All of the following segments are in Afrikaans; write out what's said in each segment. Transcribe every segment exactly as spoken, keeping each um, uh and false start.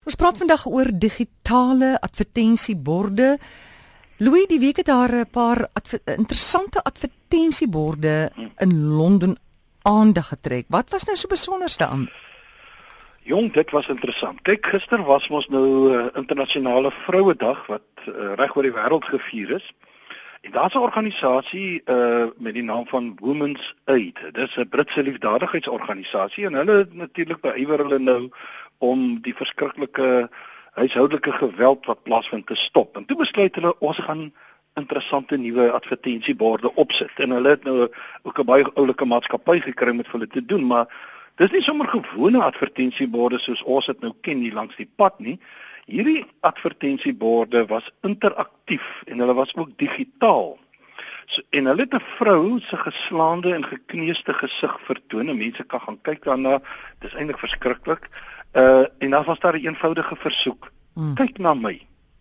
Ons praat vandag oor digitale advertensieborde. Louis, die week het daar 'n paar adver interessante advertensieborde in Londen aandag getrek. Wat was nou so besonders daaraan? Jong, dit was interessant. Kyk, gister was ons nou uh, internasionale Vrouedag wat uh, reg oor die wêreld gevier is. En daar's 'n organisasie uh, met die naam van Women's Aid. Dis 'n Britse liefdadigheidsorganisasie en hulle natuurlik beywer hulle nou om die verskriklike huishoudelike geweld wat plaasvind te stop. En toe besluit hulle ons gaan interessante nuwe advertensieborde opsit. En hulle het nou ook 'n baie oulike maatskappy gekry om dit vir hulle te doen, maar dis nie sommer gewone advertensieborde soos ons dit nou ken hier langs die pad nie. Hierdie advertensieborde was interaktief en hulle was ook digitaal. So, en hulle het 'n vrou se geslaande en gekneusde gesig vertoon en mense kan gaan kyk daarna. Dis eintlik verskriklik. Uh en dan was daar 'n eenvoudige versoek. Hmm. Kyk na my.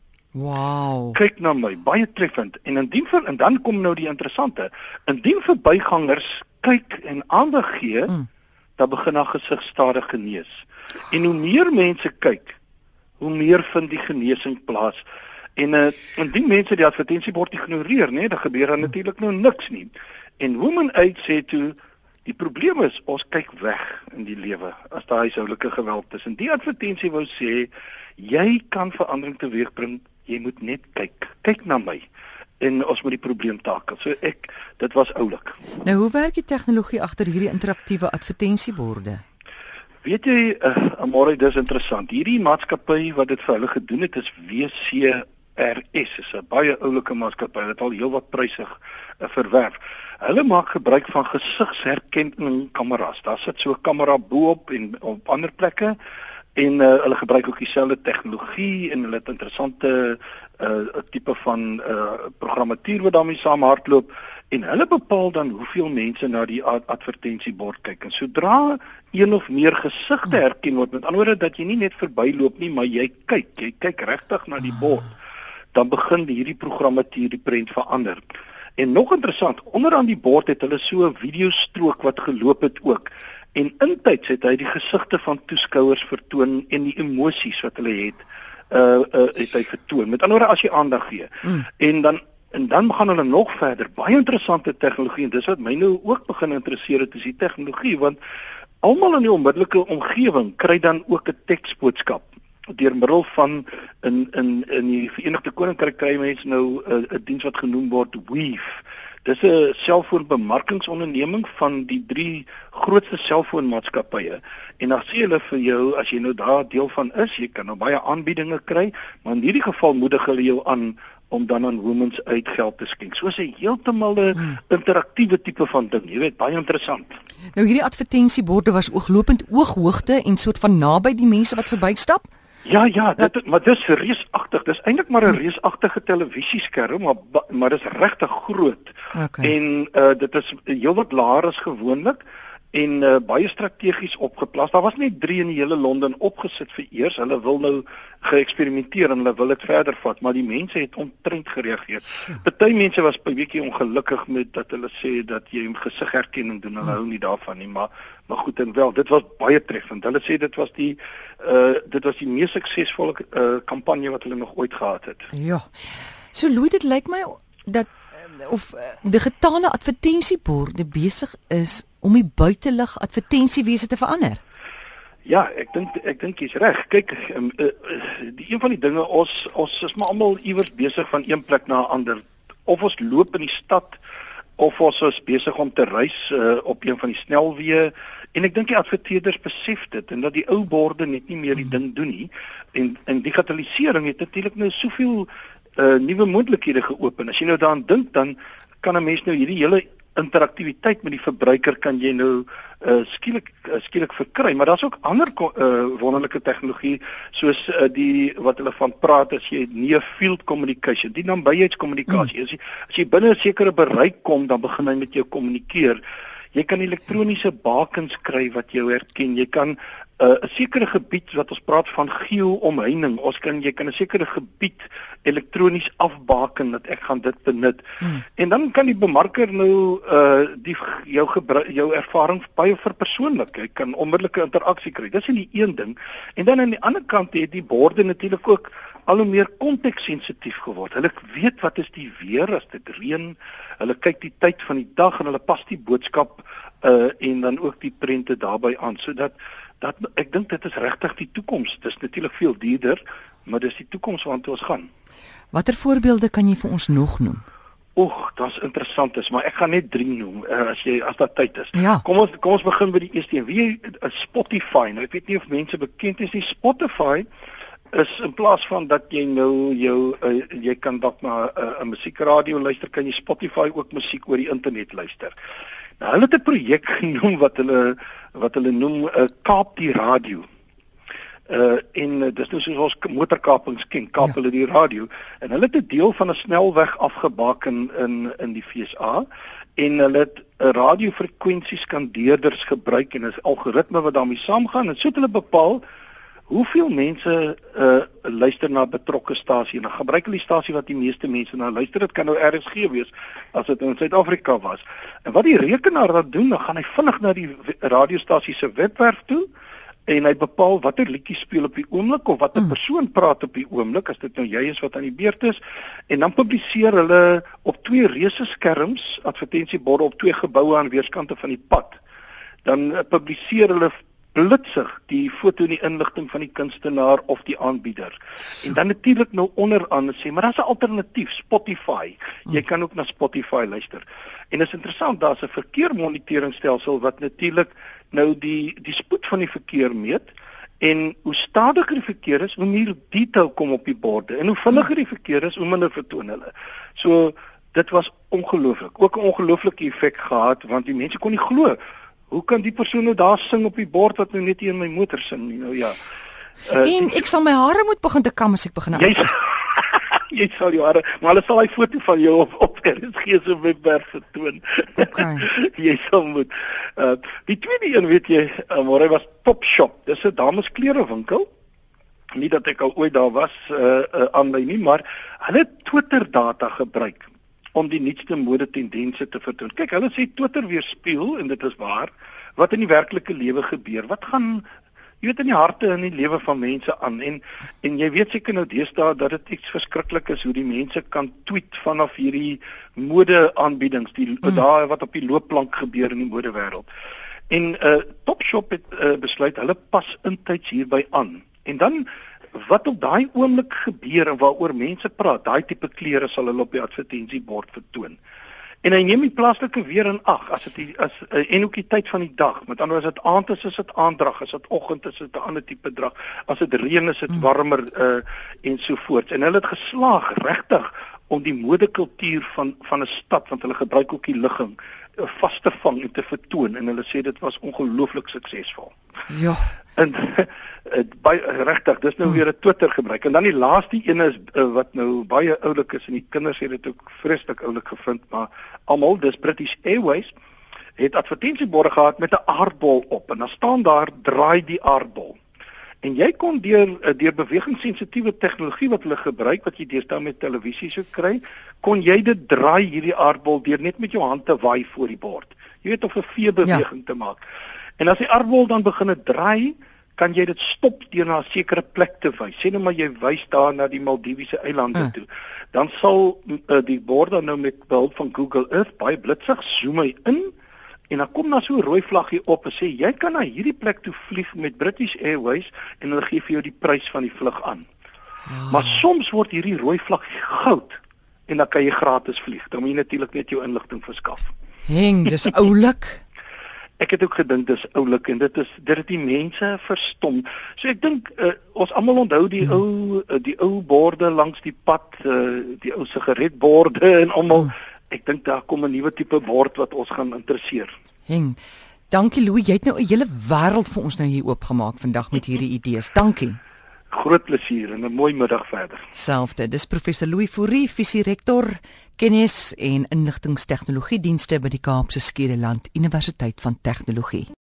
Wow. Kyk na my, baie treffend. En indien vir en dan kom nou die interessante. Indien verbygangers kyk en aandag gee, hmm. dan begin haar gesig stadig genees. En hoe meer mense kyk, hoe meer vind die genesing plaas. En uh, indien mense die advertensiebord ignoreer, nee, dan gebeur daar natuurlik nou niks nie. En Women Aid sê toe, die probleem is ons kyk weg in die lewe as daar huishoudelike geweld is. En die advertensie wou sê, jy kan verandering teweegbring, jy moet net kyk. Kyk na my. En ons moet die probleem takel. So ek, dit was oulik. Nou, hoe werk die tegnologie agter hierdie interaktiewe advertensieborde? Weet jy, uh, Amore, dis interessant. Hierdie maatskappy wat dit vir hulle gedoen het is W C R S, is 'n baie oulike maatskappy. Hulle het al heelwat pryse uh, verwerf. Hulle maak gebruik van gesigsherkenningskameras. Daar sit so 'n kamera bo-op en op ander plekke en uh, hulle gebruik ook dieselfde tegnologie en hulle het interessante uh, tipe van uh, programmatuur wat daarmee saam hardloop en hulle bepaal dan hoeveel mense na die ad advertensiebord kyk. En sodra een of meer gesigte herken word, met ander woorde dat jy nie net verbyloop nie, maar jy kyk, jy kyk regtig na die bord, dan begin hierdie programmatuur die prent verander. En nog interessant, onderaan die bord het hulle so 'n videostrook wat geloop het ook. En intyds het hy die gesigte van toeskouers vertoon en die emosies wat hulle het, uh, uh het hy vertoon. Met ander woorde as jy aandag gee. Mm. En dan en dan gaan hulle nog verder. Baie interessante tegnologie en dis wat my nou ook begin interesseer het, is die tegnologie, want almal in die onmiddellike omgewing kry dan ook 'n teksboodskap deur middel van in in in die Verenigde Koninkryk kry mense nou 'n uh, diens wat genoem word Weave. Dis 'n selfoonbemarkingsonderneming van die drie grootste selfoonmaatskappye. En dan sê hulle vir jou as jy nou daar deel van is, jy kan nou baie aanbiedinge kry, maar in hierdie geval moedig hulle jou aan om dan aan Women's Aid geld te skenk. So 'n heeltemal 'n hmm. interaktiewe tipe van ding. Jy weet, baie interessant. Nou hierdie advertensieborde was ooglopend ooghoogte en soort van naby die mense wat verbystap. Ja, ja, dit, maar dis reusagtig. Dis eintlik maar 'n reusagtige televisieskerm, maar maar dis regtig groot. Okay. En uh, dit is heelwat laer as gewoonlik en uh, baie strategies opgeplaas. Daar was net drie in die hele Londen opgesit vir eers. Hulle wil nou geëksperimenteer en hulle wil dit verder vat, maar die mense het ontrent gereageer. Party mense was 'n bietjie ongelukkig met dat hulle sê dat jy 'n gesigherkenning doen. Hulle hou nie daarvan nie, maar maar goed en wel, dit was baie treffend. Hulle sê dit was die uh dit was die mees suksesvolle uh kampanje wat hulle nog ooit gehad het. Ja. So Louis, dit lyk my dat of uh, digitale advertensieborde besig is om die buitelug advertensiewese te verander. Ja, ek dink ek dink jy's reg. Kyk, um, uh, die een van die dinge ons ons is maar almal iewers besig van een plek na 'n ander. Of ons loop in die stad of ons is besig om te reis uh, op een van die snelweë en ek dink die adverteerders besef dit en dat die ou borde net nie meer die ding doen nie en en digitalisering het natuurlik nou soveel uh, nuwe moontlikhede geopen. As jy nou daaraan dink, dan kan 'n mens nou hierdie hele interaktiwiteit met die verbruiker kan jy nou uh, skielik uh, skielik verkry, maar daar's ook ander uh, wonderlike tegnologie soos uh, die wat hulle van praat as jy near field communication, die nabyheidskommunikasie. Mm. As jy as jy binne 'n sekere bereik kom, dan begin hy met jou kommunikeer. Jy kan elektroniese bakens kry wat jou herken. Jy kan 'n uh, sekere gebied wat ons praat van geo-omheining. Ons kan jy kan 'n sekere gebied elektronies afbaken dat ek gaan dit benut. Hmm. En dan kan die bemarker nou uh die jou gebruik jou ervaring baie verpersoonlik. Jy kan onmiddellike interaksie kry. Dis in die een ding. En dan aan die ander kant het die borde natuurlik ook al hoe meer konteksensitief geword. Hulle weet wat is die weer as dit reën. Hulle kyk die tyd van die dag en hulle pas die boodskap uh en dan ook die prente daarbey aan sodat dat ek dink dit is regtig die toekoms. Dit is natuurlik veel duurder, maar dis die toekoms waartoe ons gaan. Watter voorbeelde kan jy vir ons nog noem? Oeg, dit's interessant is, maar ek gaan net drie noem uh, as jy as daar tyd is. Ja. Kom ons kom ons begin by die eerste een. Wie uh, Spotify. Nou ek weet nie of mense bekend is nie. Spotify is in plaas van dat jy nou jou uh, jy kan dalk na 'n uh, musiekradio luister, kan jy Spotify ook musiek oor die internet luister. Nou hulle het 'n projek genoem wat hulle wat hulle noem 'n uh, Kaap die radio. Uh en uh, dis nou soos ons motorkapings ken, kaap ja. hulle die radio en hulle het 'n deel van 'n snelweg afgebaken in in die V S A en hulle het 'n radiofrekwensieskandeerders gebruik en 'n algoritme wat daarmee saamgaan en so het hulle bepaal hoeveel mense uh luister na betrokke stasie en dan gebruik hulle die stasie wat die meeste mense na luister. Dit kan nou R S G wees as dit in Suid-Afrika was. En wat die rekenaar dan doen, dan gaan hy vinnig na die radiostasie se webwerf toe en hy bepaal watter liedjies speel op die oomblik of watter mm. persoon praat op die oomblik as dit nou jy is wat aan die beurt is en dan publiseer hulle op twee reuse skerms advertensieborde op twee geboue aan weerskante van die pad. Dan uh, publiseer hulle blitsig die foto en die inligting van die kunstenaar of die aanbieder. En dan natuurlik nou onderaan sê, maar daar's 'n alternatief, Spotify. Jy kan ook na Spotify luister. En dit is interessant, daar's 'n verkeermoniteringsstelsel wat natuurlik nou die die spoed van die verkeer meet en hoe stadiger die verkeer is, hoe meer detail kom op die borde en hoe vinniger die verkeer is, hoe minder vertoon hulle. So dit was ongelooflik. Ook 'n ongelooflike effek gehad want die mense kon nie glo hoe kan die persoon nou daar sing op die bord wat nou net hier in my motor sing nie? Nou ja. Uh, en ek sal my hare moet begin te kam as ek begin. Jy jy sal jou hare, maar hulle sal hy foto van jou op op R S G se webwerf vertoon. Okay. Jy sal moet. Uh, die tweede een weet jy, uh, maar hy was Topshop. Dis 'n damesklerewinkel. Nie dat ek al ooit daar was uh, uh, aan my nie, maar hulle het Twitter data gebruik om die nuutste modetendense te vertoon. Kyk, hulle sê Twitter weerspieël en dit is waar wat in die werklike lewe gebeur. Wat gaan jy weet in die harte en in die lewe van mense aan en en jy weet seker nou deesdae dat dit iets verskriklik is hoe die mense kan tweet vanaf hierdie modeaanbiedings, die mm. daar wat op die loopplank gebeur in die modewêreld. En uh Topshop het uh, besluit hulle pas intyds hierby aan. En dan wat op daai oomblik gebeur en waaroor mense praat, daai tipe klere sal hulle op die advertensiebord vertoon. En hy neem die plaaslike weer in ag as dit as en ook die tyd van die dag. Met ander woorde as dit aand is, is dit aanddrag, as dit oggend is, is dit 'n ander tipe drag. As dit reën is, is dit warmer uh en so voort. En hulle het geslaag regtig om die modekultuur van van 'n stad want hulle gebruik ook die ligging uh, vas te vang en te vertoon en hulle sê dit was ongelooflik suksesvol. Ja. En baie regtig, dis nou weer 'n Twitter gebruik. En dan die laaste een is uh, wat nou baie oulik is en die kinders het dit ook vreeslik oulik gevind, maar almal, dis British Airways het advertensieborde gehad met 'n aardbol op en dan staan daar draai die aardbol. En jy kon deur deur bewegingssensitiewe tegnologie wat hulle gebruik wat jy deesdae met televisie sou kry, kon jy dit draai hierdie aardbol deur net met jou hand te waai voor die bord. Jy weet of 'n veebeweging ja. te maak. En as die aardbol dan begin draai, kan jy dit stop deur na 'n sekere plek te wys. Sê nou maar jy wys daar na die Maldiwiese eilande uh. toe. Dan sal uh, die bord dan nou met behulp van Google Earth baie blitsig zoom hy in en dan kom daar so 'n rooi vlaggie op en sê jy kan na hierdie plek toe vlieg met British Airways en hulle gee vir jou die prys van die vlug aan. Oh. Maar soms word hierdie rooi vlaggie goud en dan kan jy gratis vlieg. Dan moet jy natuurlik net jou inligting verskaf. Heng, dis oulik. Ek het ook gedink dis oulik en dit is dit het die mense verstom. So ek dink uh, ons almal onthou die hmm. ou uh, die ou borde langs die pad, uh, die ou sigaretborde en almal. Hmm. Ek dink daar kom 'n nuwe tipe bord wat ons gaan interesseer. Heng. Dankie Louis, jy het nou 'n hele wêreld vir ons nou hier oopgemaak vandag met hierdie idees. Dankie. Groot plesier en 'n mooi middag verder. Selfde. Dis professor Louis Fourie, visierektor, kennis en inligtingstegnologie dienste by die Kaapse Skiereiland Universiteit van Tegnologie.